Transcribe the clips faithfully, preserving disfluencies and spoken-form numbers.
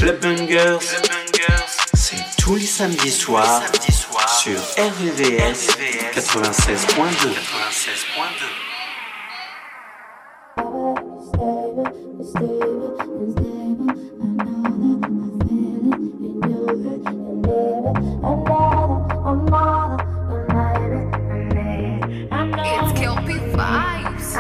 Club Bungers, c'est tous les samedis soirs sur R V V S quatre-vingt-seize point deux. It's Kelpie vibes.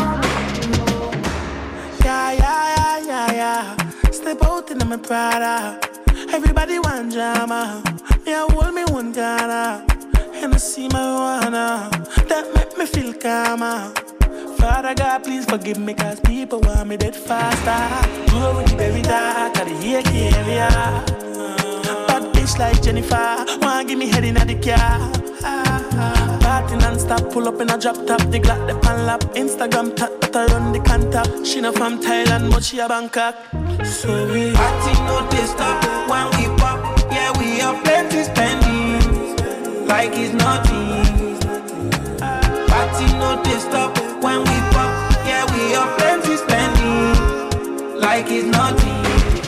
Yeah, yeah, yeah, yeah, yeah. Step out in my Prada. Everybody want drama. Yeah, hold me one Ghana. And I see marijuana. That make me feel calmer. Father God, please forgive me, cause people want me dead faster. Go with the baby dark, at the here area. Bad bitch like Jennifer, wanna give me head in the car. Party non-stop, pull up in a drop top. The Glock, the pan lap, Instagram tap, but I run the contact. She not from Thailand, but she a Bangkok. So we party no they stop when we pop. Yeah, we have plenty spending, like it's nothing. Party no they stop when we pop. Yeah, we have plenty spending, like it's nothing.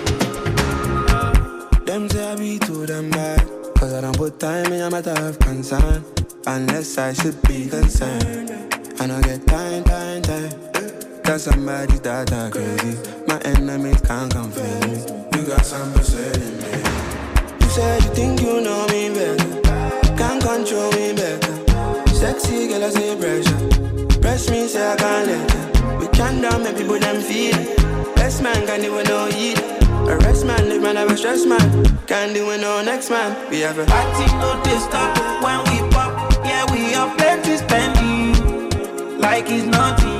Them say I be too damn bad, cause I don't put time in a matter of concern. Unless I should be concerned, I don't get time, time, time. Cause somebody's that are crazy. My enemies can't confuse me. You got some percent in me. You say you think you know me better, can't control me better. Sexy girl, I say pressure. Press me, say I can't let her. We can't down, make people them feel it. Best man can't do it no eat. Arrest man, live man, have a stress man. Can't do it no next man. We have a party, no they stop when we pop. Yeah, we have plenty spending, like it's nothing.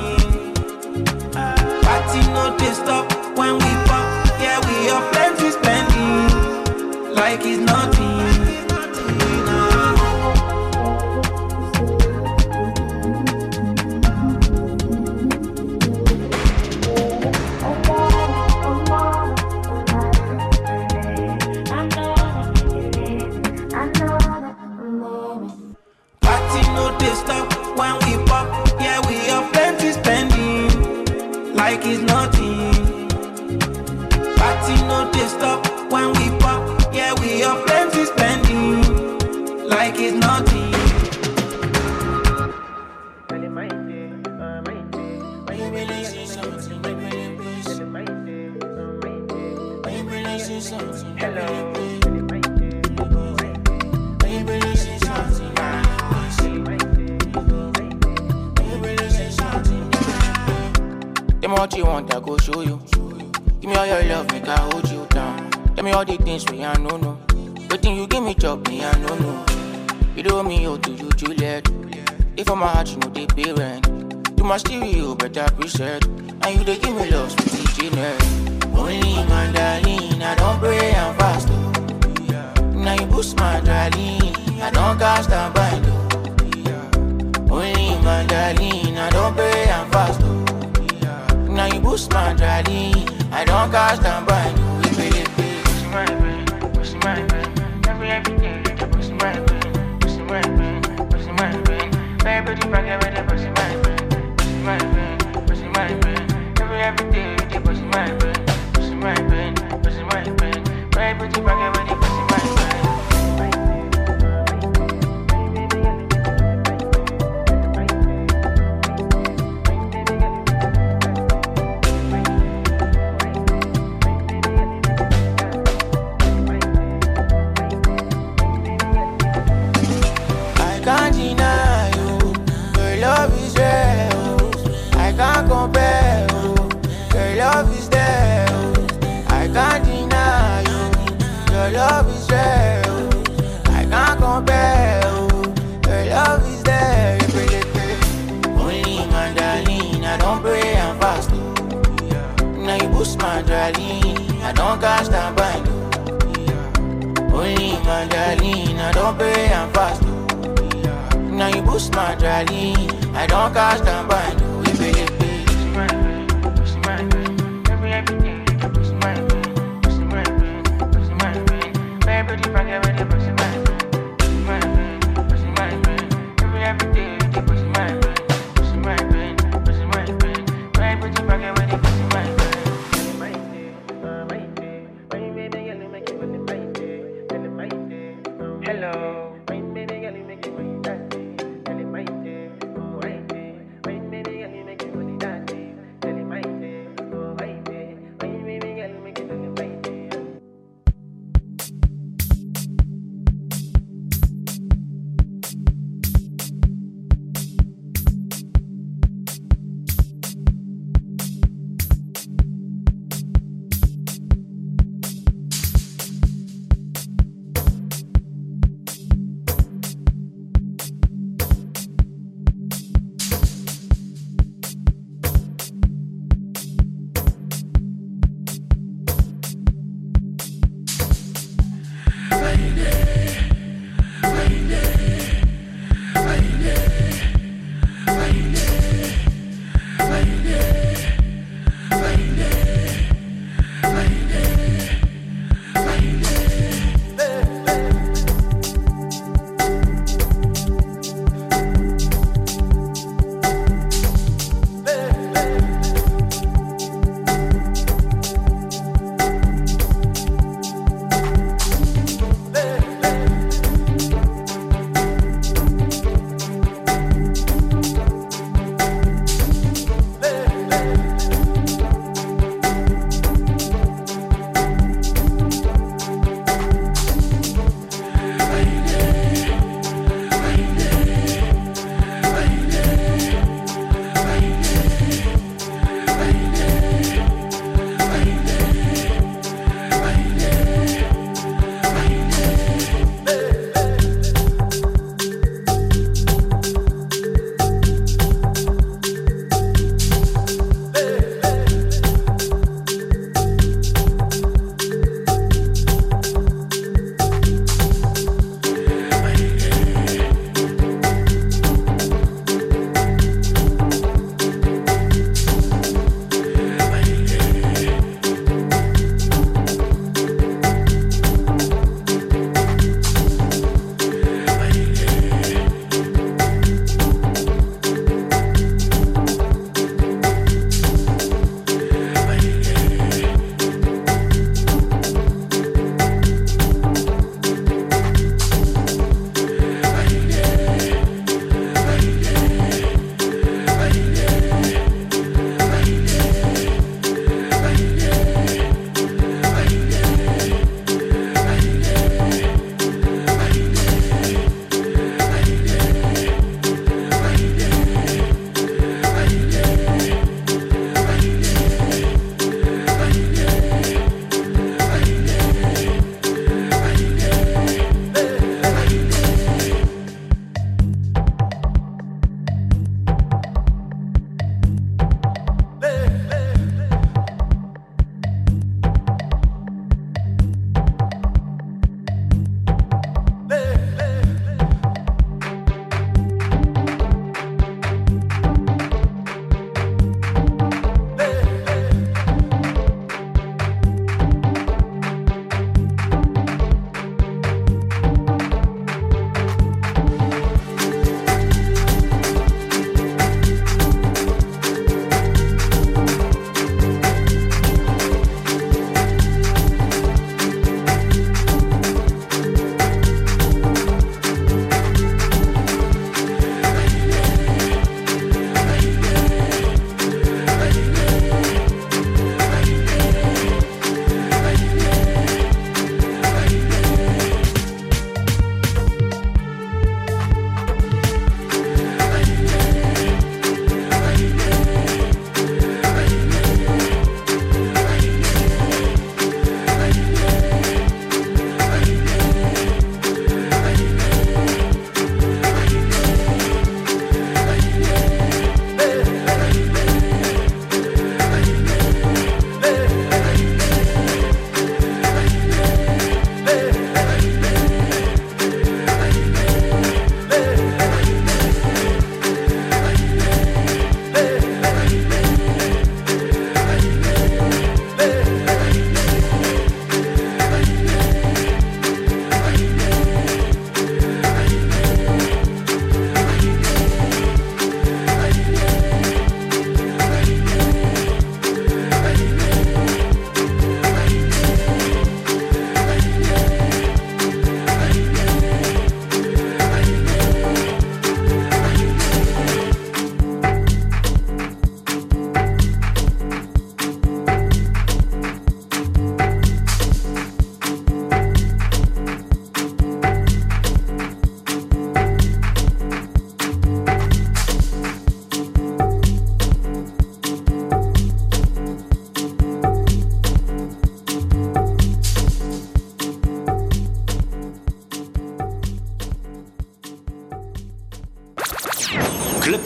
Party no they stop when we pop. Yeah, we have plenty spending, like it's nothing. Like it's nothing. Party no they stop when we pop. Yeah, we have plenty spending, like it's nothing. Hello. Tell me what you want, I go show you. Give me all your love, make I hold you down. Tell me all the things we I know, no. Waiting you give me job, me I know, no. You do me, oh, do you, Juliet? If I'm a heart, you know they pay rent. You my stereo, better preset. And you they give me love, sweet Jeanette. Only my darling, I don't pray and fast, oh. Now you boost my darling, I don't cast and bind, oh. Only my darling, I don't pray and fast, oh. Now you boost my darling, I don't cast and bind you. We really pay. Pussy my brain, pussy my brain. Every every day, pussy my brain, pussy my brain, pussy my brain. Very pretty back every day, pussy my brain, pussy my brain, pussy my brain. Every every day, pussy my brain, pussy my brain, pussy my brain. Very pretty back every day, pussy my brain. Compare, oh. Your love is there, oh. I can't deny you. Your love is there, oh. I can't compare, oh. Your love is there, you really pay. Only my darling, I don't pray and fast, oh. Now you boost my darling, I don't cast and bind, oh. Only my darling, I don't pray and fast, oh. Now you boost my darling, I don't cast and bind, oh. You really pay. Baby,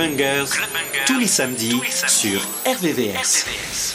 Bangers, tous les samedis sur R V V S.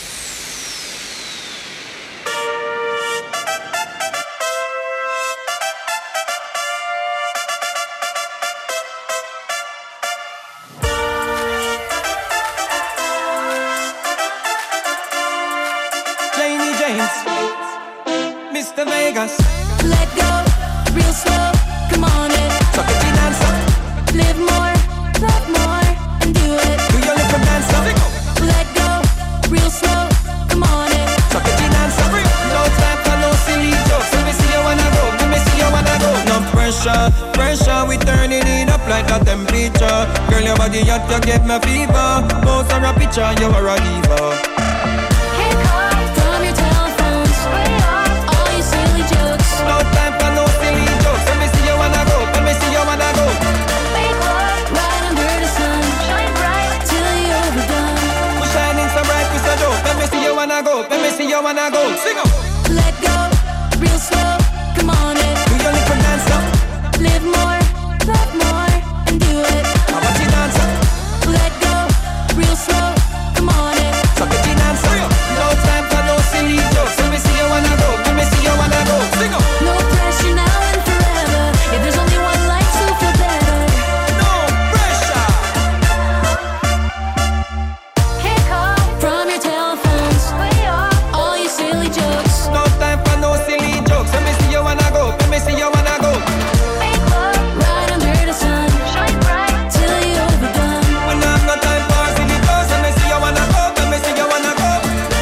Mister Vegas. Let go, real slow, come on it. Suck it in and suck. Live more, love more, and do it. Do your little dance up. Let go, real slow, come on it. Suck it in and suck. No time for no silly jokes. Let me see you wanna go. Let me see you wanna go. No pressure, pressure. We turning it up like a temperature. Girl, your body hot, you get me fever. Post or a picture, you are a diva. No time for no silly jokes. Let me see you wanna go. Let me see you wanna go. Right under the sun, shine bright till you're overdone. We shining so bright, we so dope. Let me see you wanna go. Let me see you wanna go. Sing up. Let go, real slow, come on it. Do your little dance up. Live more, love more, and do it. How about you dance up? Let go, real slow, come on it. Suck it in and suck. No time for no silly jokes. Let me see you wanna go. Let me see you wanna go. Sing up. No pressure now and forever. If there's only one life, so feel better. No pressure. Hey, call from your telephones. All your silly jokes. No time for no silly jokes. Let me see you wanna go. Let me see you wanna go. Right under the sun, shine bright till you're overdone. When I've no time for silly jokes. Let me see you wanna go. Let me see you wanna go.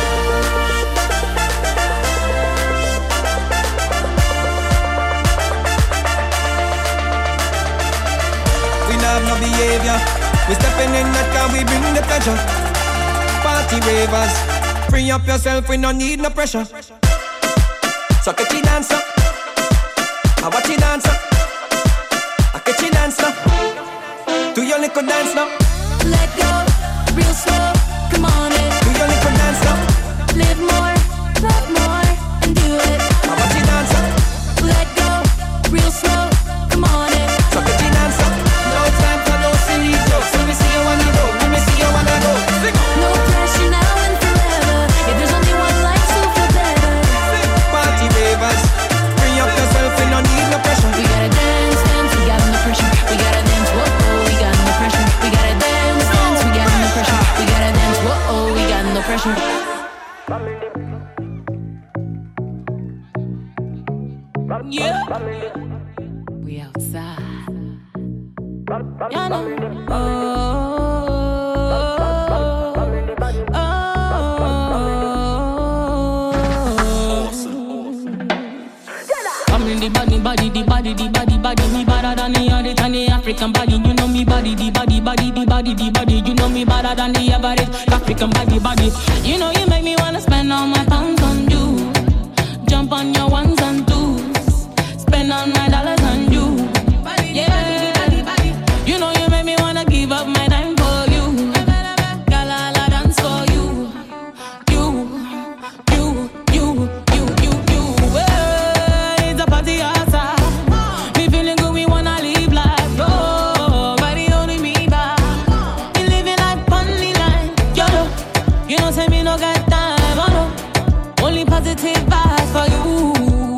We not have no behavior. We stepping in that car, we bring the pleasure. Party ravers, free up yourself, we no need no pressure. So get you dance up. I watch you dance up. I get you dance now. Do your little dance now. Let go, real slow, come on it. Do your little dance now. Live more, love more, and do it. I watch you dance up. Let go, real slow, come on it. So get you dance up. No time for no silly jokes. Let me see you wanna go. Let me see you wanna go. Sing. No pressure now and forever. If there's only one life, so feel better. Party ravers, free up yourself, we no need no pressure. We gotta dance, dance, we got no pressure. We gotta dance, whoa, oh, we got no pressure. We gotta dance, dance, we got no pressure. We gotta dance, whoa, oh, we got no pressure. Yeah. We outside. You know. Oh, oh, I'm in the body, body, the body, the body, body. Me better than the other than the African body. You know me body, the body, body, the body, the body. You know me better than the average African body, body. You know you make me wanna spend all my pounds on you. Jump on your ones and twos. Spend all my dollars on you. Yeah. You know you make me wanna give up my time for you. Girl, I'll dance for you. You, you, you, you, you, you. Well, it's a party outside. We feeling good, we wanna live life. Nobody holding me back. We living like funny line. Yo, you know, say me no got time. Oh no, only positive vibes for you.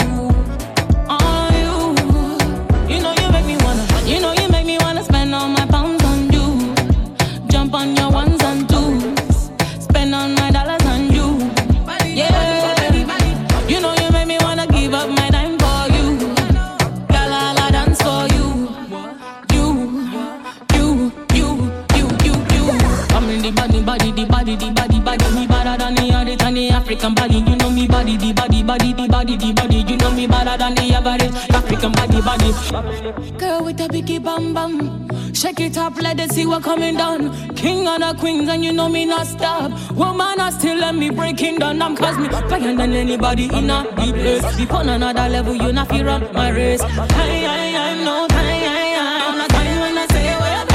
African body, you know me body, the body, body, the body, the body. You know me better than the average African body, body. Girl with a biggie bam bam, shake it up, let it see what coming down. King of the queens and you know me not stop. Woman, I still let me breaking down. I'm cause me fire than anybody in a deep place. If on another level, you not feel run my race. I, I, I'm no time, I, I'm not time when I say where I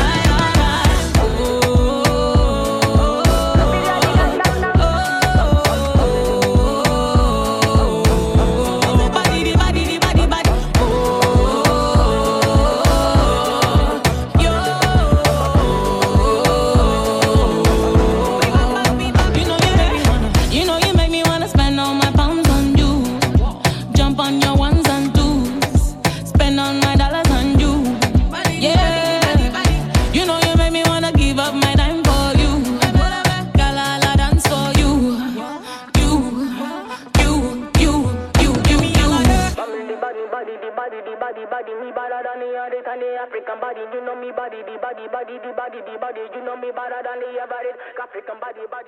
better than the other than the African body. You know me body, the body, body, the body, the body. You know me better than the average African body, body,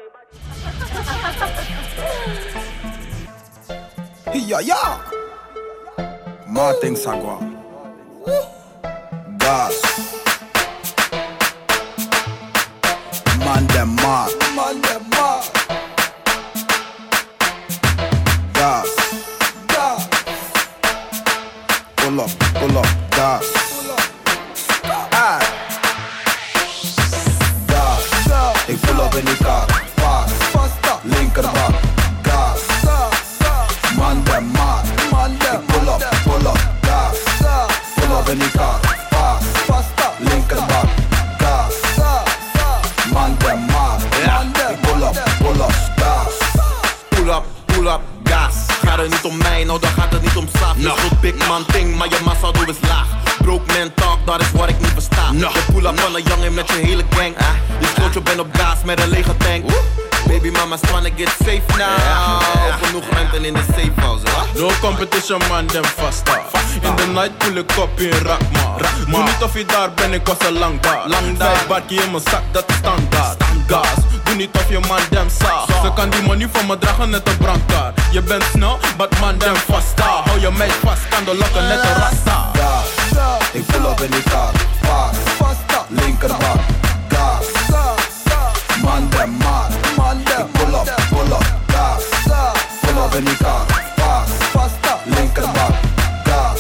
body. Yeah, yeah. Martin Sagwa. Gas. Man dem mad. Man dem mad. Gas. Gas. Pull up, pull up, gas. Ah. Gas. Ik pull up in die kar. Fast. Linkerbak. Gas. Man dem mad. Ik pull up, pull up, gas. Pull up in die kar. Fast. Linkerbak. Gas. Man dem mad. Ik pull up, pull up, gas. Pull up, pull up, gas. Gaat het niet om mij, nou dan gaat het niet om saaf. Je goed big man ding, maar je massa doe is laag. Broke man talk, dat is wat ik niet versta. Je pull up van een jongen met je hele gang. Je sloot je bent op gas met een lege tank. Baby mama's tryna get safe now. Genoeg ruimte in de safe house. No competition man, them faster. In the night pull ik op in Rakma. Doe niet of je daar bent, ik was al lang daar. Vijf barkie in mijn zak, dat is standaard. Gas, doe niet of je man dem saag. Ze kan die money van me dragen net een brandkaart. Je bent snel, but man dem faster. Hou je meid vast, kan de lokken net een rasta. Gas, ik pull op in die kar. Fast, linkerbak. Gas, man dem mad. Ik pull up, pull up, gas. Pull up in die kar. Fast, linkerbak. Gas,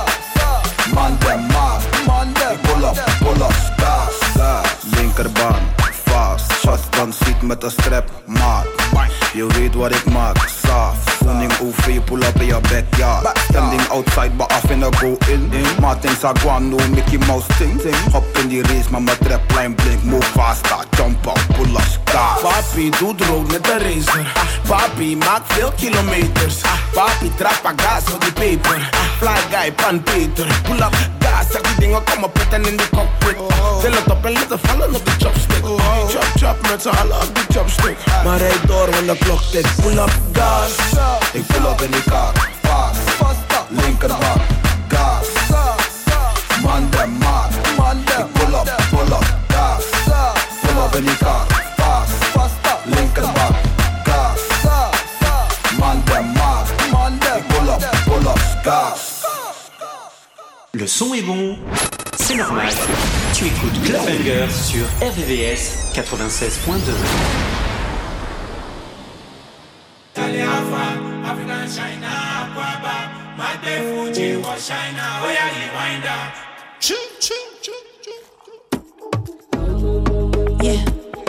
man dem mad. Ik pull up, pull up, gas. Linkerbaan, fast. Shotgun ziet met een strap, maat. Je weet wat ik maak, saaf. Funding O V, pull up in je backyard. Standing outside, but af in a go in. Martin Sagwan, no Mickey Mouse thing. Hop in die race, maar mijn trapline blink. Move faster, jump up, pull up, gas. Papi doet rood met de racer. Papi maakt veel kilometers. Papi trappa gas voor die peper. Fly guy, pan Peter. Pull up, gas, zeg die dingen komen pitten in de cockpit. Til het op en laten vallen op de chopstick. Chop chop met z'n allen op die chopstick. Maar rijd door, want de klok tikt. Pull up, gas. Ik pull up in die kar, fast, linkerbak, gas. Man dem mad. Ik pull up, pull up, gas. Pull up in die kar, fast, linkerbak, gas. Man dem mad. Ik pull up, pull up, gas. Le son est bon, c'est normal. Tu écoutes Club Banger sur R V V S quatre-vingt-seize point deux. African China, Aquaba, Mate Fuji, was China, oh yeah, you wind up. Choo, choo, choo, choo. Yeah.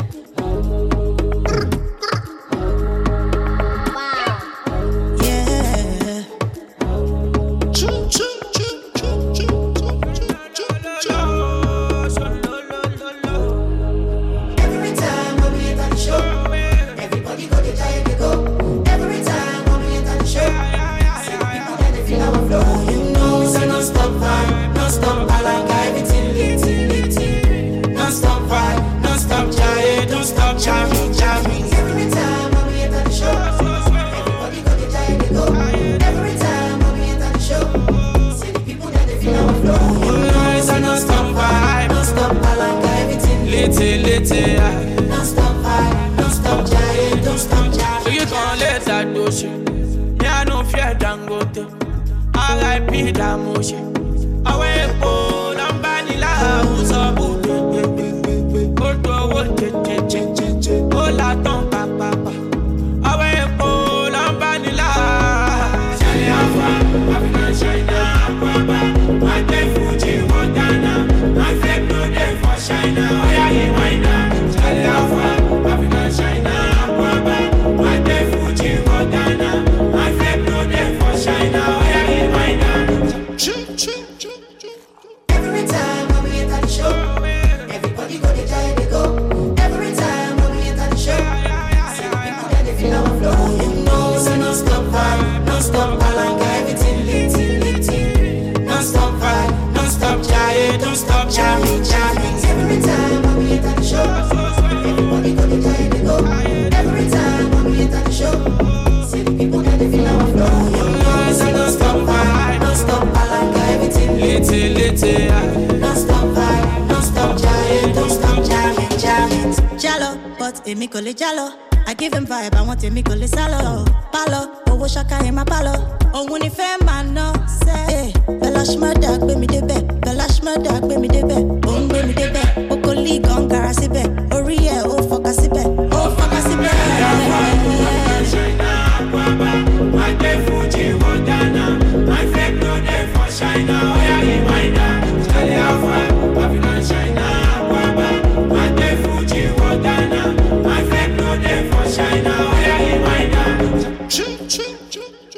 Don't stop fight, don't stop giant, don't stop giant. So you can't let that do shit. Me I no fear Dangote. R I P that motion. I wait for them vanilla who's a boot. Go to a wood, oh la ton papa. I wait for them vanilla. Charlie Alpha, African China, Aquaba, Mate Fuji, Montana. My fake no day for China. Oh yeah, he wind up. Charlie Alpha, African China, Aquaba, Mate Fuji, Montana. My fake no day for China. Oh yeah, he wind up. Choo choo. unity. Don't stop vibe, don't stop jamming, don't stop jamming, jamming. Jalo, but Emi Kole Jalo. I give him vibe, I want Emi Kole Salo. Palo, Owo Shaka in my palo. Oh, when if a man no say, Bella Shmurda, gbé mi débẹ̀, Bella Shmurda, gbé mi débẹ̀, oh, gbé mi débẹ̀, Okoli gon gara síbẹ̀, orí ẹ̀ ó fọkà síbẹ̀, ó fọkà síbẹ̀. China, Guaba, my day Fuji, Montana, my fake no day for China, oh yeah, he mind that, Charlie Alpha, Babylon, China, Guaba, my day Fuji, Montana, my fake no day for China, oh yeah, he mind that. Choo, choo, choo, choo.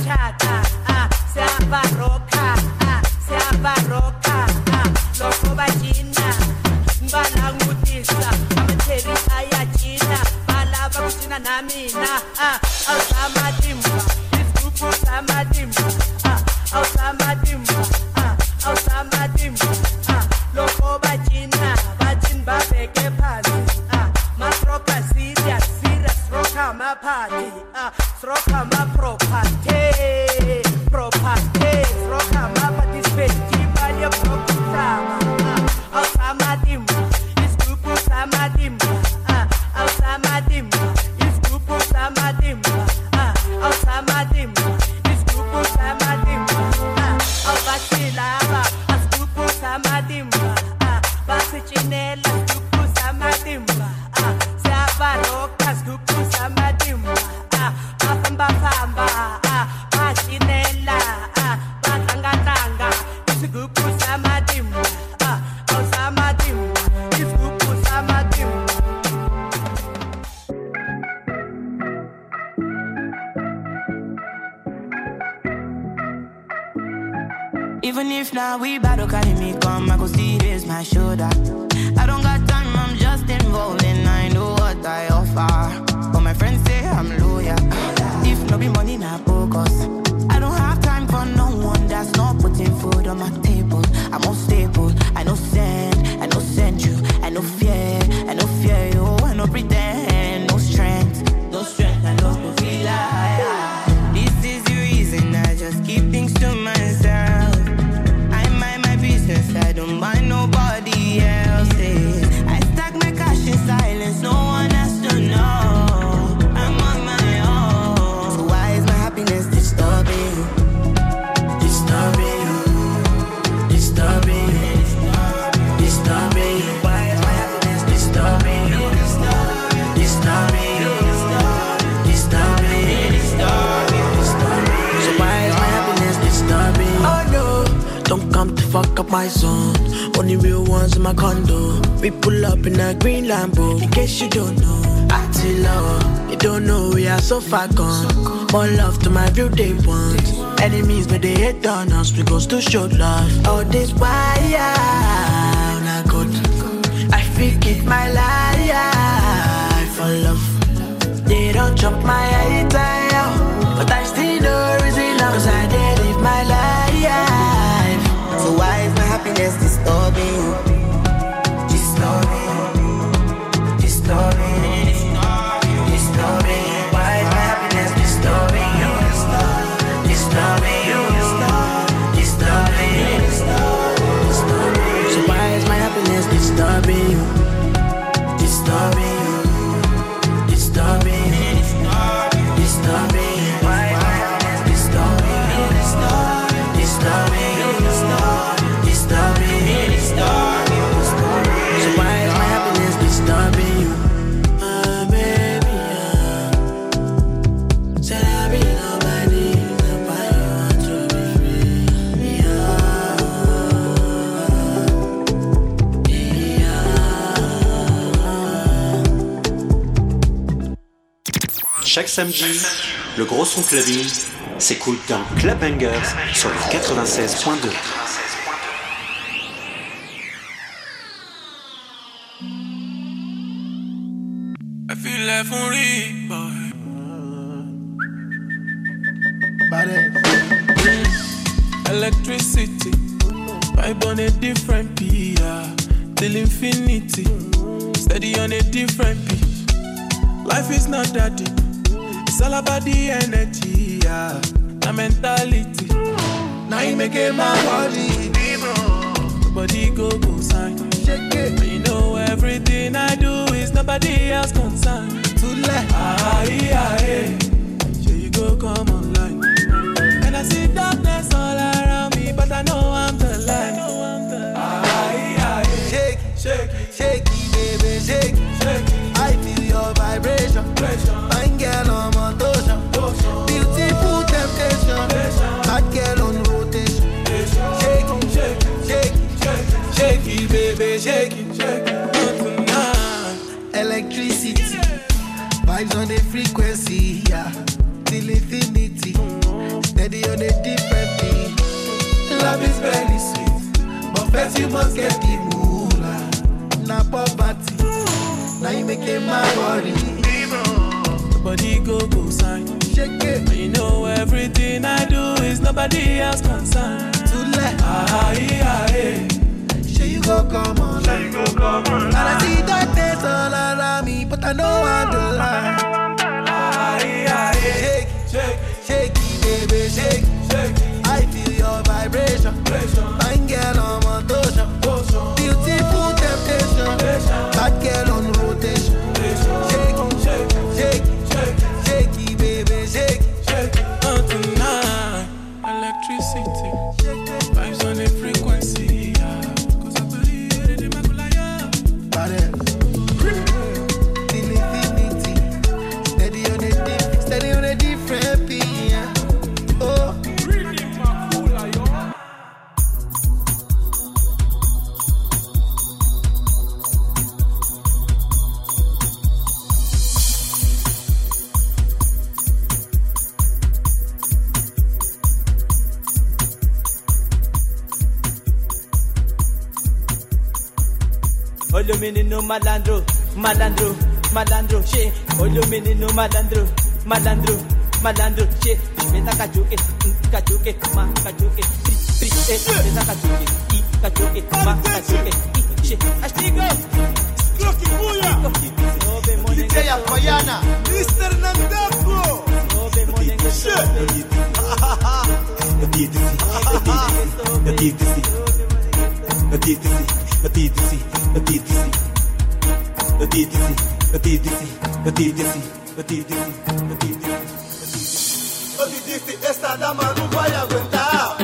siyatshata ah siyabaroka ah siyabaroka ah lokho bajina ngibala ngutisa amatheli ayajina balaba kuthina namina ah awusamadimba isigubu samadimba ah awusamadimba ah awusamadimba ah lokho bajina bajin babeke phansi ah masroka serious serious roka maphati ah roka maproperty property roka maparticipate bali property awusamadimba isigubu samadimba ah awusamadimba isigubu samadimba ah awusamadimba isigubu samadimba ah awubasilaba asigubu samadimba ah basichinela isigubu samadimba ah siyabaroka isigubu samadimba ah bafamba famba ah bashinela ah batlanga isigubu samadimba ah awusamadimba isigubu samadimba. Even if now we battle, carry me come, I go see this my shoulder. I don't got time, I'm just involved and I know what I offer. But my friends say I'm loyal. If no be money, not focus. I don't have time for no one that's not putting food on my table. I'm unstable, I no send, I no send you, I no fear, I no fear you, I no pretend, no strength, no strength, I no feel like. This is the reason I just keep things to myself. I don't mind nobody else's. I stack my cash in silence, no one has to know. I'm on my own. So why is my happiness disturbing you? Disturbing you. Disturbing you. Disturbing you. Why is my happiness disturbing you? Disturbing you. Disturbing you. Disturbing you. So why is my happiness disturbing you? Oh no, don't come to fuck up my zone. Only real ones in my condo. We pull up in a green Lambo. In case you don't know, I tell love. You don't know we are so far gone. More love to my real day ones. Enemies but they hate on us. We goes to show love. All this why not good. I forget my life for love. They don't chop my head down, but I still know reason cause I did live my life. So why is my happiness disturbing you? Disturbing you. Disturbing you. Disturbing you. Why is my happiness disturbing you? Disturbing you. Disturbing you. Disturbing you. So why is my happiness disturbing you? Disturbing you. Disturbing you. Disturbing you. Why is my happiness disturbing you? Disturbing you. Disturbing you. So why is my happiness disturbing you? Ah, baby, ah. Said I be nobody, nobody want to be free. Yeah, yeah. Chaque samedi, le gros son clubbing s'écoute dans Club Bangers sur le quatre-vingt-seize point deux. I feel like for real, boy. Electricity, vibe on a different P, yeah. Till infinity, steady on a different P. Life is not that deep, it's all about the energy, yeah. The mentality, now you make it my body. Body go go sign, shake it. And you know everything I do is nobody else concerned. Too late, ah yeah, yeah. Here you go, come online. And I see darkness all around me, but I know I'm the light. Ah yeah, yeah. Shake it, shake it, shake it, baby, shake it, shake it. I feel your vibration, fine girl on motion, beautiful temptation, hot girl on rotation. Shake it, shake it, shake it, shake it, baby, shake it, shake it. Electricity, vibes on the frequency, yeah. Till infinity. Cause you must get the moolah. Na poverty, now you making my worry. Nobody go go sign. Shake it. You know everything I do is nobody else concerned. To let ah yeah yeah. Sure you go come on. Sure you go come on. And I see darkness all around me, but I know I'm the light. Ah yeah yeah. Shake it, shake it, shake it, baby, shake it, shake it. I feel your vibration. Fine girl on motion. Beautiful temptation. Bad girl on rotation. Shake it, shake it, shake it. Shake it, baby, shake it, shake it. Oh, tonight, electricity, vibes on the frequency. Yeah. Cause I believe in the Makulaya. Till infinity, steady on a deep, steady on a different beat. Yeah. Oh, really Makulaya. Olho menino malandro, malandro, malandro, che. Olho menino malandro, malandro, malandro, che. Meta cachuque, cachuque, ma cachuque, tri, tri, eh. Meta cachuque, i cachuque, ma cachuque, i, che. Astigo, Clocky Buya, D J Apayana, mister Namdako, che. eu te disse, esta dama não vai aguentar.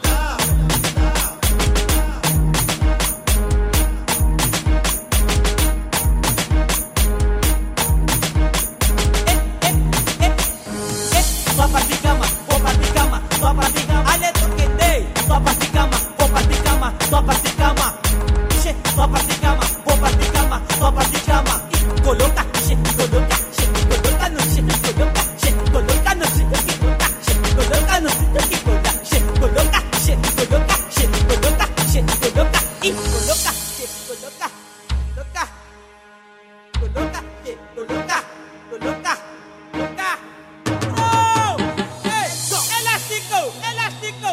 Só pra de cama, vou pra de cama, só pra de cama. Ale tu que dei, só pra de cama, vou pra de cama, só pra de cama. Che, só pra de cama, vou pra de cama, só pra de cama. E coloca, che, coloca, che, coloca no che, coloca, che, coloca no che, coloca, che, coloca no che, coloca, che, coloca, che, coloca, che, coloca, che, coloca. E coloca, che, coloca, coloca, coloca, che, coloca, coloca, coloca. Elástico, elástico,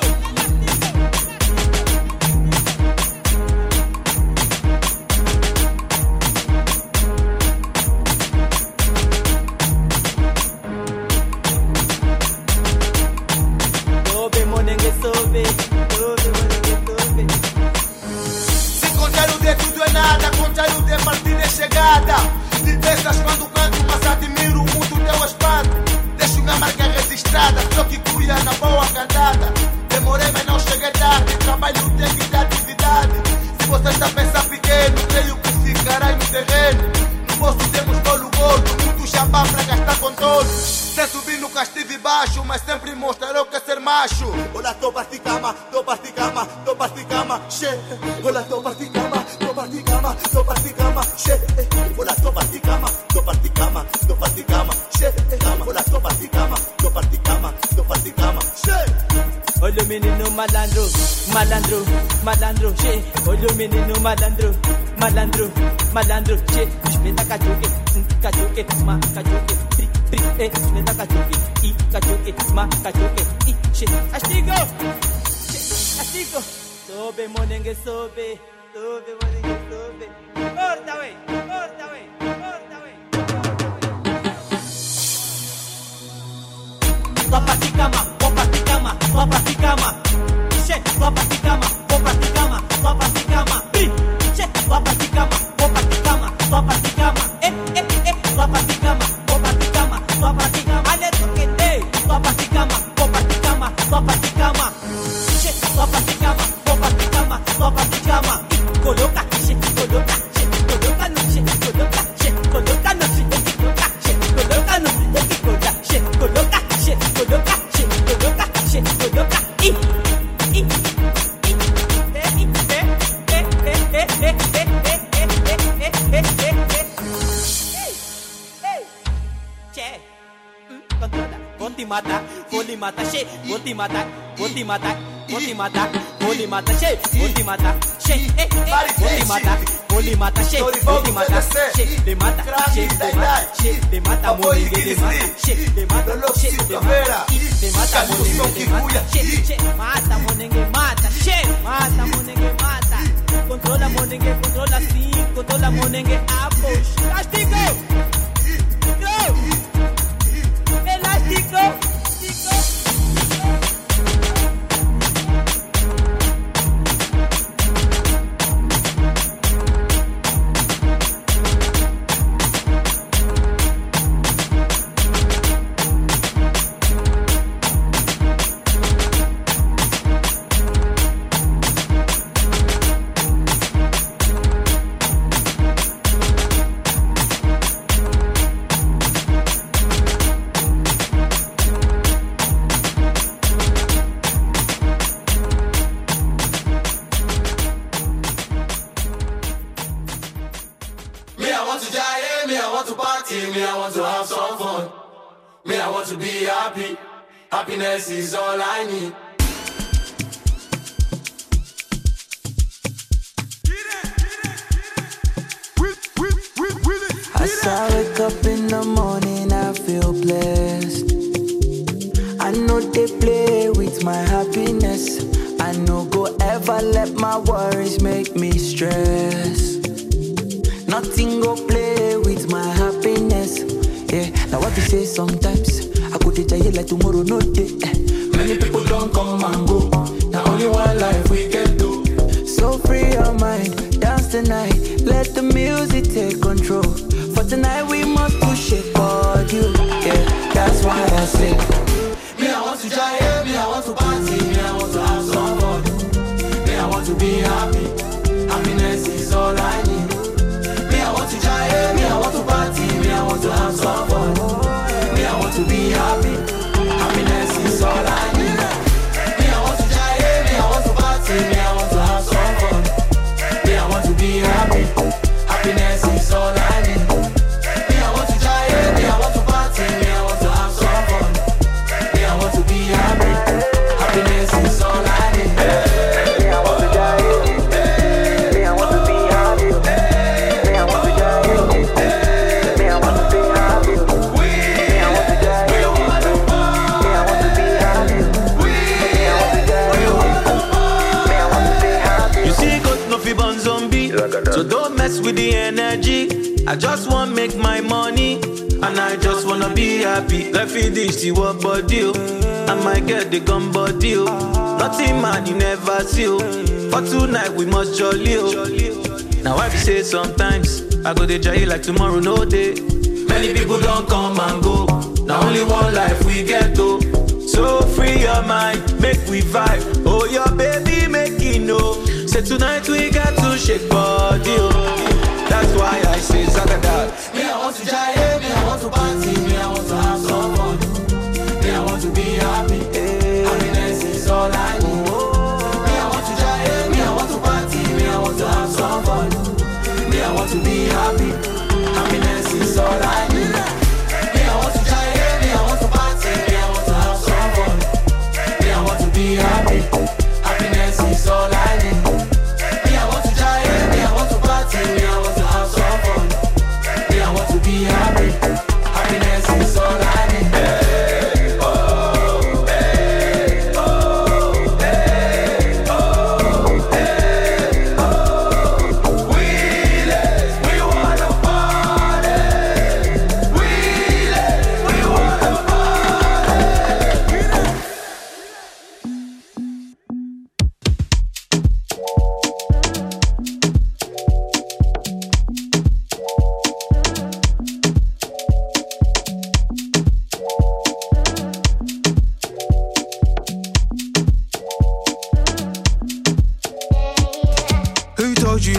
sobe, monengue, sobe, sobe, monengue, sobe. Se contar o de tudo é nada, contar o de partida é chegada. Te pensas quando canto, mas admiro muito teu espanto. Deixo minha marca registrada, só que cuia na boa cantada. Demorei, mas não cheguei tarde. Trabalho tem que dar atividade. Se você está a pensar pequeno, creio que ficará no terreno. No bolso temos bolo gordo, muito jabá pra gastar com todos. Sem subir nunca estive baixo, mas sempre mostrarei o que é ser macho. Olá, tô parti cama, tô parti cama, tô parti cama, che. Olá, tô parti cama, tô parti cama, tô parti cama, che. Olá, tô parti cama, tô parti cama, tô parti cama, che. Olá, tô parti cama, tô parti cama, tô parti cama, che. Olho menino malandro, malandro, malandro, che. Olho menino malandro, malandro, malandro, che. Meta cachuque, cachuque, ma cachuque, tri, tri, eh. Meta cachuque, i cachuque, ma cachuque, i, che. Astigo, che, astigo. Sobe, monengue, sobe, sobe, monengue, sobe. Corta, wey, corta, wey, corta, wey. Só pra de cama, vou pra de cama, só pra de cama. Che, só pra de cama, vou pra de cama, só pra de cama. Che, só pra de cama, vou pra de cama, só pra de cama. Eh, eh, eh, só pra de cama, vou pra de cama, só pra de cama. Ale tu que dei, só pra de cama, vou pra de cama, só pra de cama. Che, só pra de cama, vou pra de cama, só pra de cama. Coloca, che, coloca, che, coloca no che, coloca, che, coloca no che, coloca, che, coloca no che, coloca, che, coloca, che, coloca, che, coloca, che, coloca. I, i, i, eh, i, eh, eh, eh, eh, eh, eh, eh, eh, eh, eh, eh. Che, controla, vou te matar, vou lhe matar, che, vou te matar, vou te matar, Holy mata, holy mata, shake, holy mata, shake, eh, eh, holy mata, holy mata, shake, holy mata, shake, the mata, shake, the mata, shake, the mata, moninge, the mata, shake, the mata, shake, the mata, the mata, moninge, the mata, shake, shake, mata, moninge, mata, shake, mata, moninge, mata, controla moninge, controla si, controla moninge, apush, elastico, go, elastico, elastico. Happiness is all I need. As I wake up in the morning, I feel blessed. I know they play with my happiness. I know go ever let my worries make me stress. Nothing go play with my happiness. Yeah, now what you say sometimes I could tell you like tomorrow no day. Many people don't come and go. Now only one life we can do. So free your mind, dance tonight. Let the music take control. For tonight we must push it for you. Yeah, that's why I say me I want to try, me I want to party, me I want to have some fun. Me I want to be happy. Happiness is all I need. Me I want to try, me I want to party, me I want to have some fun. Me I want to be happy. Happiness is all I need. Me I want to try, me I want to party, me I want to have some fun. Me I want to be happy. Happiness is all I need. Me I want to try, me I want to party, me I want to have some fun. Me I want to be happy. Happiness is all I need. Me I want to try, me I want to be happy. Me I want to try, me I want to be happy. Me I want to try, me I want to be happy. Me I want to try, me I want to be happy. You see, God no fi born zombie, so don't mess with the energy. I just want make my money, and I just wanna be happy. Let me this see what body, I might get the gun body. Nothing man you never see. For tonight we must jolly. Now I be say sometimes I go to jail like tomorrow no day. Many people don't come and go. Now only one life we get to. So free your mind, make we vibe. Oh your baby make it know. Say tonight we got to shake body. That's why I say Zagadat. Me I want to try, me I want to party, me I want to have some fun. Me I want to be happy. Happiness is all I need. Me I want to try, me I want to party, me I want to have some fun. Me I want to be happy. Happiness is all I need. Me I want to try, me I want to party, me I want to have some fun. Me I want to be happy. Happiness is all I need. Me I want to try, me I want to party, me I want to have some fun. Me I want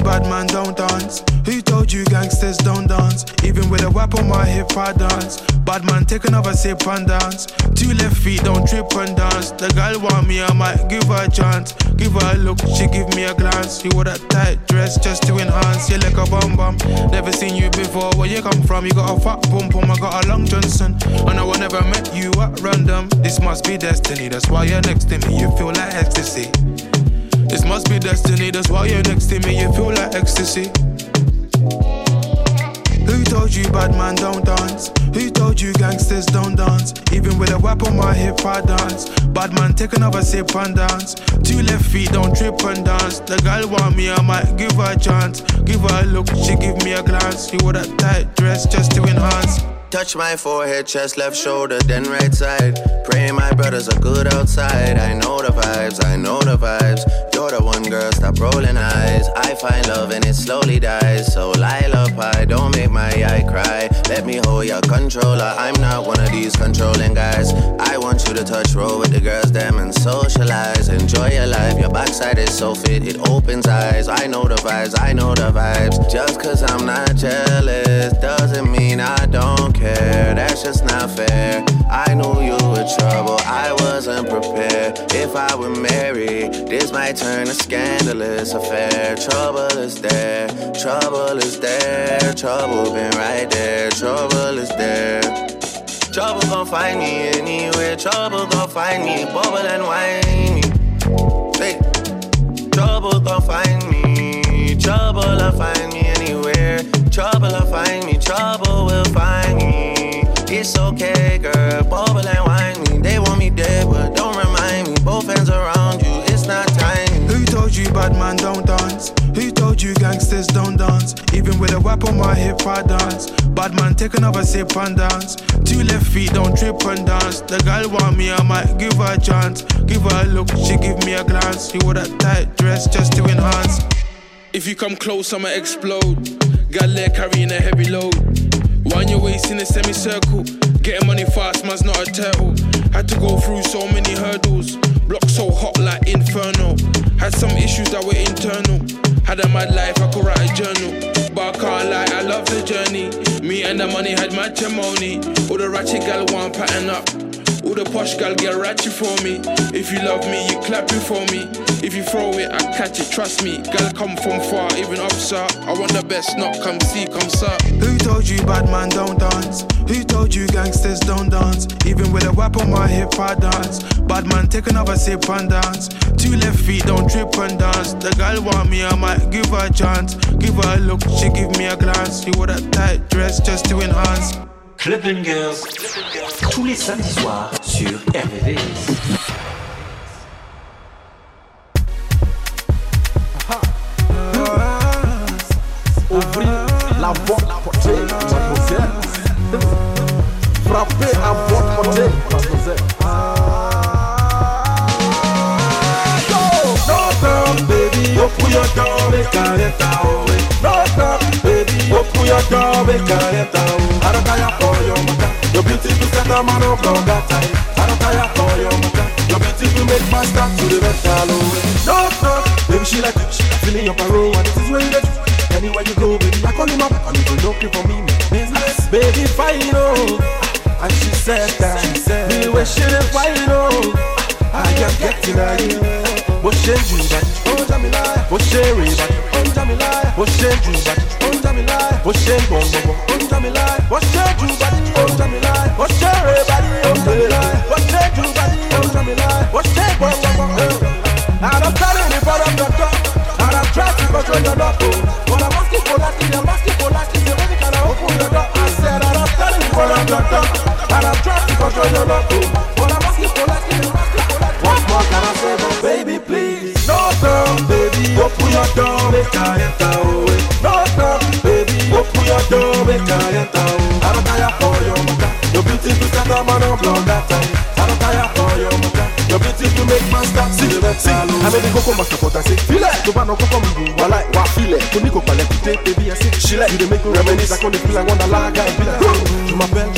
bad man don't dance? Who told you gangsters don't dance? Even with a whip on my hip I dance. Bad man take another sip and dance. Two left feet don't trip and dance. The girl want me, I might give her a chance. Give her a look, she give me a glance. You wore that tight dress just to enhance. You like a bum bum. Never seen you before, where you come from? You got a fat pum pum, I got a long Johnson. And I never met you at random. This must be destiny, that's why you're next to me. You feel like ecstasy. This must be destiny, that's why you're next to me. You feel like ecstasy. Who told you bad man don't dance? Who told you gangsters don't dance? Even with a whip on my hip I dance. Bad man take another sip and dance. Two left feet don't trip and dance. The girl want me, I might give her a chance. Give her a look, she give me a glance. You wore that tight dress just to enhance. Touch my forehead, chest, left shoulder, then right side. Praying my brothers are good outside. I know the vibes, I know the vibes. You're the one girl, stop rolling eyes. I find love and it slowly dies. So lullaby, don't make my eye cry. Let me hold your controller. I'm not one of these controlling guys. I want you to touch roll with the girls, them and socialize. Enjoy your life, your backside is so fit, it opens eyes. I know the vibes, I know the vibes. Just cause I'm not jealous doesn't mean I don't care. That's just not fair. I knew you were trouble, I wasn't prepared. If I were married, this might turn a scandalous affair. Trouble is there, trouble is there. Trouble been right there, trouble is there. Trouble gon' find me anywhere. Trouble gon' find me, bubble and whiny. Hey. Trouble gon' find me. Trouble'll find me anywhere. Trouble'll find me. Trouble will find me. It's okay, girl. Bubble and whine me. They want me dead, but don't remind me. Both hands around you. It's not time. Who told you bad man don't dance? Who told you gangsters don't dance? Even with a whip on my hip I dance. Bad man take another sip and dance. Two left feet don't trip and dance. The girl want me, I might give her a chance. Give her a look, she give me a glance. You wore that tight dress just to enhance. If you come close, I'ma explode. Got leg carrying a heavy load. Wind your waist in a semicircle. Getting money fast, man's not a turtle. Had to go through so many hurdles. Block so hot like inferno. Had some issues that were internal. Had a mad life, I could write a journal. But I can't lie, I love the journey. Me and the money had matrimony. All the ratchet gal want pattern up. All the posh gal get ratchet for me. If you love me, you clap it for me. If you throw it, I catch it, trust me. Gal come from far, even up, sir. I want the best, not come see, come sir. Who told you bad man don't dance? Who told you gangsters don't dance? Even with a whip on my hip I dance. Bad man take another sip and dance. Two left feet don't trip and dance. The girl want me, I might give her a chance. Give her a look, she give me a glance. You wore that tight dress just to enhance. Club Bangers, tous les samedis soirs sur R V V S. Ouvrir la porte, portée, mademoiselle. Frappez à votre portée, mademoiselle. No come, baby, open your door, make I enter away. No come, baby, open your door, make I enter away. I don't care for your mother, your beautiful set a man of long time. I don't care for your mother, your beautiful make my start to the metal away. No come, baby, she like you, she feeling your parole, and this is where you get. Anywhere you go, baby, I call him up, and you go looking for me, business. Baby, fine, oh, and she said that, she said, me wishing it fine, oh, I am getting at you. What shame you back? Oh, Jamila. What shame you back? Oh, Jamila. What shame you back? Oh, Jamila. What shame you back? Oh, Jamila. What shame you back? Oh, Jamila. What shame you back? Oh, Jamila. What shame you back? Oh, Jamila. What shame you back? I don't stand in the front of the door, and I'm trying to control your door. But I'm asking for that, I'm asking for that. Say, baby, can I open the door? I said I don't stand in the front of the door, and I'm trying to control your door. But I'm asking for that, I'm asking for that. What more can I say, but baby, please? No come, baby, open your door, make I enter away. No come, baby, open your door, make I enter away. I don't care for your mother, your beautiful set a man of blood that time. I don't care for your mother, your beautiful make man stop see the metal. I made the coco master for that say, feel it. To ban no coco me go, I like what feel it. To me go collect it, baby I say, she like you dey make me reminisce. I can't feel like one that lag and be like, to my bed, what's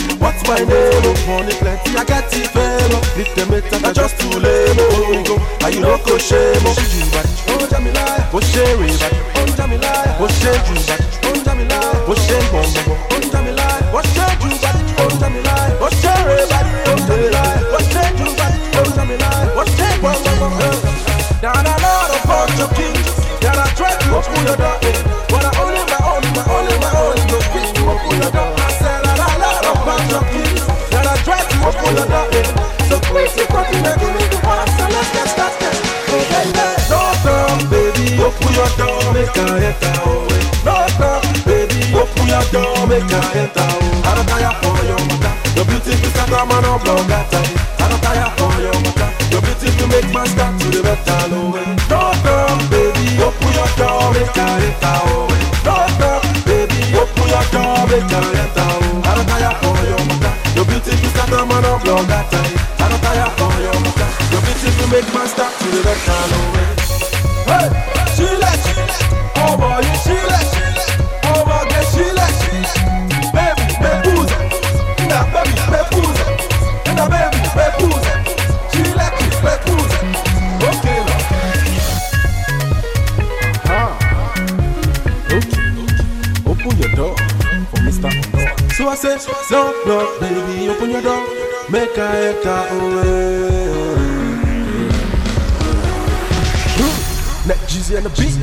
what's my name? Oh, money plenty, I get it fame. Little mate, I just too lame. Oh, we go, and you know go shame. Oh, you back, oh, Jamila, oh, Sherry back, oh, Jamila, oh, Sherry back, oh, Jamila, oh, Sherry Bombo, oh, Jamila, oh, Sherry back, oh, Jamila, oh, Sherry back, oh, Jamila, oh, Sherry back, oh, Jamila, oh, Sherry Bombo. Now I know a bunch of kings that I try to open your door, but I only my own, my only my own, no quick to open your door. I said I know a bunch of kings that I try to open your door, so quick to open your door. So let's get started. Oh baby, no come, baby, open your door, make I enter. Oh, no come, baby, open your door, make I enter. Oh, I don't tire for your mother. Your beautiful start, man, I'm long that time. I don't tire for your mother. Your beautiful make my start to the better. Oh, no come, baby, open your door, make I enter. Oh, no come, baby, open your door, make I enter. Oh, I don't tire for your mother. Your beautiful start, man, I'm long that time. I don't tire for your mother. Your beautiful make my start to the better. Oh, hey, she let, she let, oh boy, you she let, she let, oh boy, get she let, she let, baby, me pose, na baby, me pose, na baby, me pose, she let you, me pose, okay, ah, okay, open your door for Mister Unknown. So I say, no, no, baby, open your door, make I enter away. Neck Jeezy and the beat.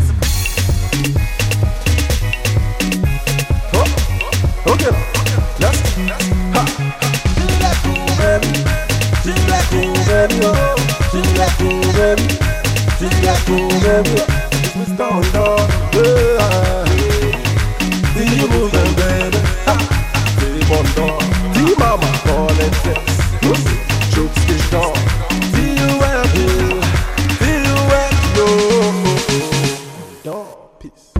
Oh, okay, let's ha. She like cool, baby. She like cool, baby. Oh, she like cool, baby. She like cool, baby. It's Mister Unknown. Yeah. See you moving, baby. Ha. See you on door. See mama calling sex. Chokes get down. See you happy. See you happy. Oh. Peace.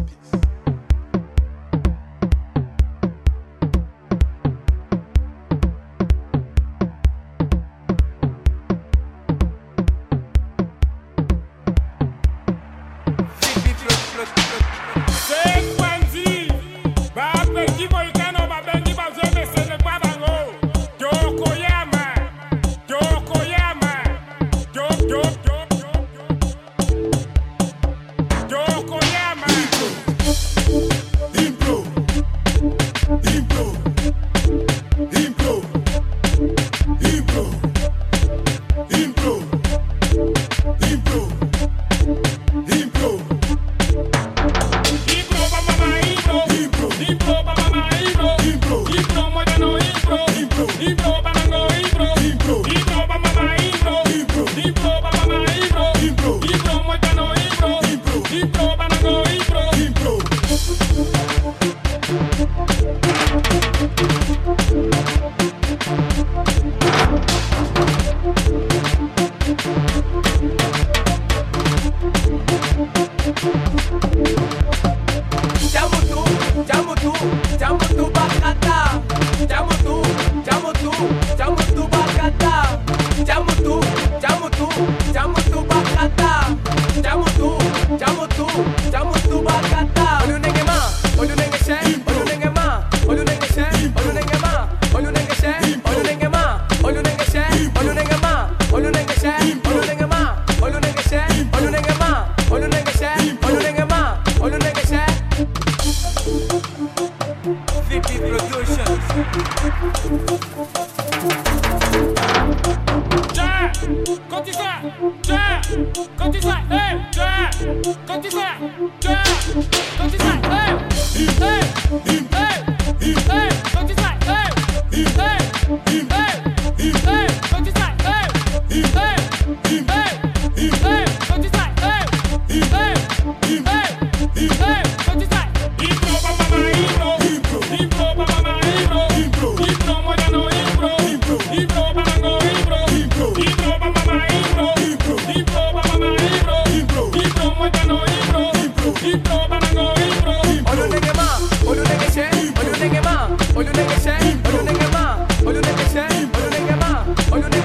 Olu nenge ma, olu nenge she, olu nenge ma, olu nenge she, olu nenge ma, olu nenge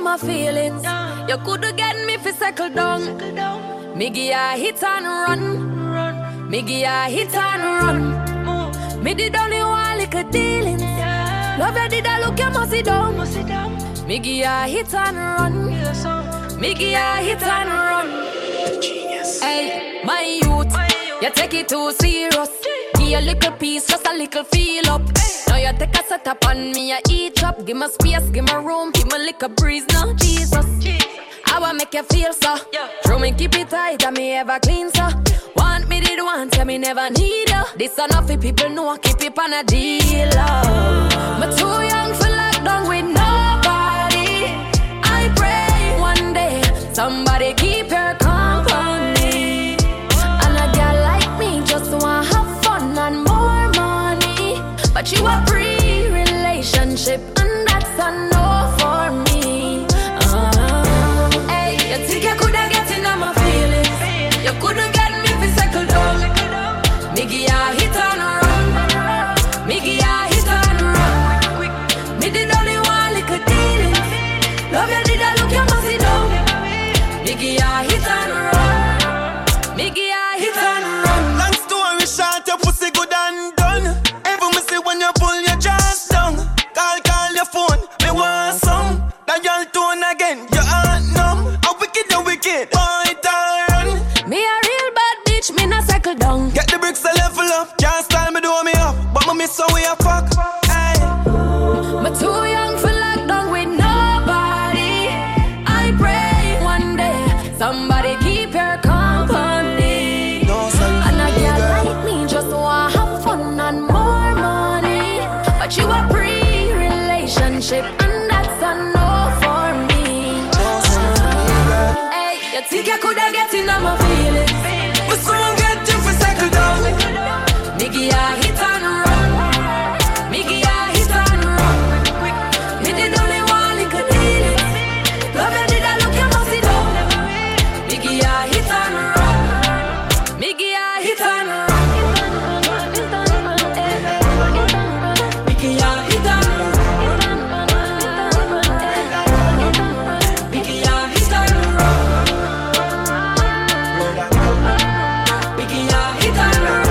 in my feelings. You coulda get me fi settle down. Me give ya hit and run. Me give ya hit and run. Me did only one little dealings. Love you did I look you must sit down. Me give ya hit and run. Me give ya hit and run. Hey, my youth, you take it too serious. Give a little piece, just a little feel up. Now you take a set up on me, I eat up. Give me space, give me room, give me little breeze now, Jesus. I wanna make you feel so. Throw me keep it tight, and me ever clean so. Want me did want, tell me never need you. This enough for people know, keep it on a deal. I'm too young for lockdown with nobody. I pray one day somebody keep your company. And a girl like me just wanna have fun and more money. But you a pre-relationship and that's a no for me. uh, Hey, you think you coulda get in on my feelings? You coulda get me fi settle down. Me give ya hit and run. Me give ya hit and run. Me did only one little dealings. Love you did I look you must sit down. Me give ya hit and run. Me give ya hit and run. Long story short, your pussy good and done. Ever me see when you pull your dress down. Call, call your phone, me want some. That y'all tone again, your heart numb. How wicked, you wicked, boy, turn. Me a real bad bitch, me not settle down. Get the bricks a level up, can't style me do me up. But me miss how we a fuck, hey. Me too young for lockdown with nobody. I pray one day somebody keep your company. No, son, and a girl like me just wanna have fun and more money. But you a pre-relationship and that's a no for me. uh, Hey, you think you coulda get in on my feelings? But soon get you for settle down. Me give ya hit and run. Me give ya hit and run. Me did only one little dealings. Love you did I look you must sit down. Me give ya hit and run. Me give ya hit and run. Me give ya hit and run. Me give ya hit and run. Me give ya hit and run.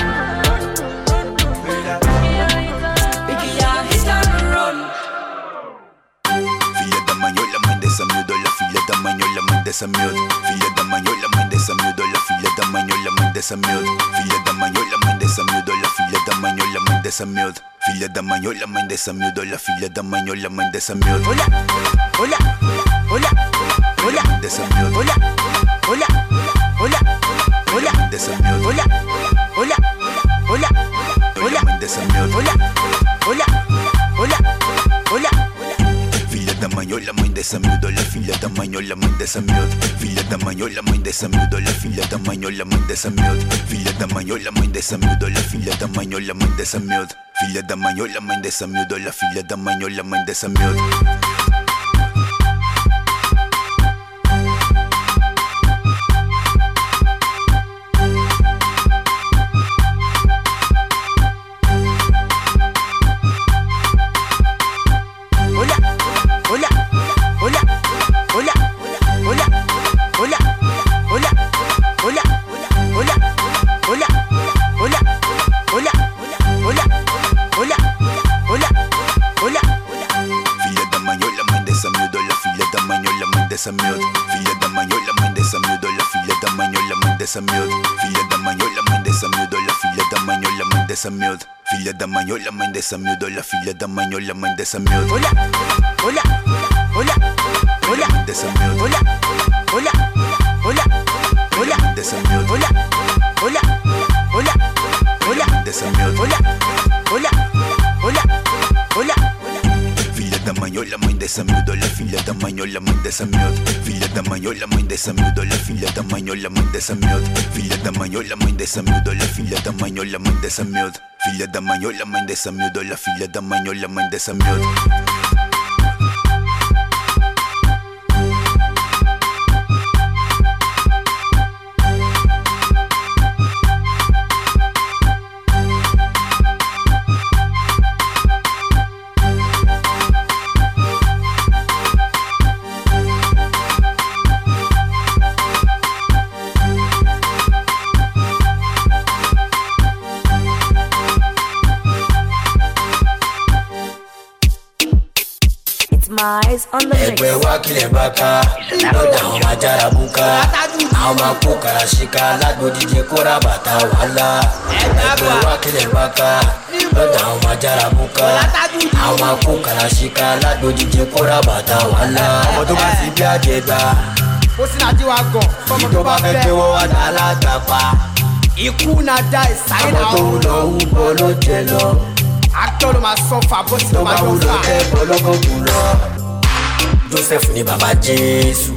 Me give ya hit and run. Figlia da magnola, mãe dessa miúda, olha filha da manhola, mãe dessa miúda. Filha da manhola, mãe dessa miúda, olha filha da manhola, mãe dessa miúda. Filha da manhola, mãe dessa miúda, olha filha da manhola, mãe dessa miúda. Filha da manhola, mãe dessa miúda, olha filha da manhola, mãe dessa miúda. Olha, olha, olha, olha, dessa miúda. Olha, olha, olha, olha, dessa miúda. Olha, olha, olha, olha, mãe dessa miúda. Olha, olha, olha, olha. Filha da manhola, mãe dessa miúda, olha filha da manhola, mãe dessa miúda. Filha da manhola, mãe dessa miúda, olha filha da manhola, mãe dessa miúda. Filha da manhola, mãe dessa miúda, olha filha da manhola, mãe dessa miúda. Filha da manhola, mãe dessa miúda, olha filha da manhola, mãe dessa miúda. Dessa miúda, filha da manhola, mãe dessa miúda, olha filha da manhola, mãe dessa miúda. Filha da manhola, mãe dessa miúda, olha filha da manhola, mãe dessa miúda. Filha da manhola, mãe dessa miúda, olha filha da manhola, mãe dessa miúda. Olha, olha, olha, olha, dessa miúda. Olha, olha, olha, olha, dessa miúda. Olha, olha, olha, olha, dessa miúda. Olha, olha, olha, olha. Filha da manhola, mãe dessa miúda, olha filha da manhola, mãe dessa miúda. Filha da manhola, mãe dessa miúda, olha filha da manhola, mãe dessa miúda. Filha da manhola, mãe dessa miúda, olha filha da manhola, mãe dessa miúda. Filha da manhola, mãe dessa miúda, olha filha da manhola, mãe dessa miúda. my eyes on the mix. Ẹgbẹ́ wa kílẹ̀ bàkà, lọ́dà àwọn máa jára búkà. Àwọn máa kó kàrà síkà, lágbódìje kóra bàtà wàhálà. Ẹgbẹ́ wa kílẹ̀ bàkà, lọ́dà àwọn máa jára búkà. Àwọn máa kó kàrà síkà, lágbódìje kóra bàtà wàhálà. Ọmọ tó bá ti bí àjẹgbà, ó sì náà jíwá gan. Fọ́mọ tó bá fẹ́ gbé wọ́n wá dá látàpá. Ikú náà dá ìsáyé náà. Àwọn tó ń lọ wúbọ ló jẹ lọ. Actor ló máa sọ́fà bó ti ló máa wúlò dọ́fà. tẹ́ bọ́lọ́gọ́gùn lọ. Joseph ni bàbá Jésù,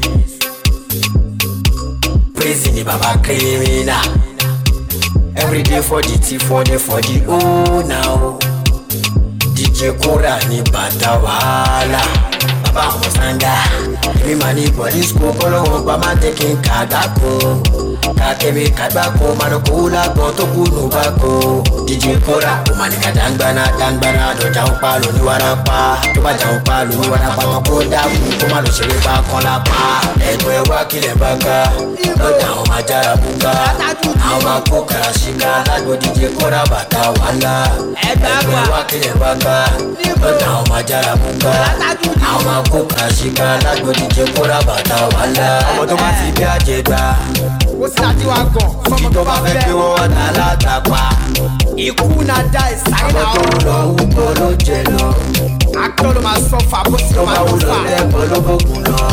Praise ni bàbá criminal. Everyday for the tea, for the for the oh now. D J Kora ni bàtà wàhálà. Bàbá àwọn sanga, èmi máa ní police kó kọ́lọ́wọ́ pa máa tẹ̀kí kàdákò. Kakebe kadbako, manoko lágbọ́n tó kú nù báko. D J Kora, ó máa ní ká dangbana dangbana dọ̀jà ń pa lóní warapa. Tó bá jà ń pa lóní warapa, wọn kó dákú kó má lọ ṣeré bá kán lápá. Ẹgbẹ́ wa kílẹ̀ bá ká, lọ́dà àwọn máa jára búká. Àwọn máa kó kàrà síká, lágbo D J Kora bàtà wàhálà. Ẹgbẹ́ wa kílẹ̀ bá ká, lọ́dà àwọn máa jára búká. Àwọn máa kó kàrà síká, lágbo D J Kora bàtà wàhálà. Ọmọ tó bá ti bí àjẹgbà, ó sì náà jíwá gan. Fọ́mọ tó bá fẹ́ gbé wọ́n wá dá látàpá. Ikú náà dá ìsáyé náà. Àwọn tó ń lọ wúbọ ló jẹ lọ. Actor ló máa sọ́fà bó ti ló Tó máa bá wúlò dọ́fà. tẹ́ bọ́lọ́gọ́gùn lọ.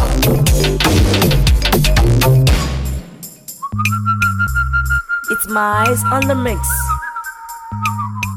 It's my eyes on the mix.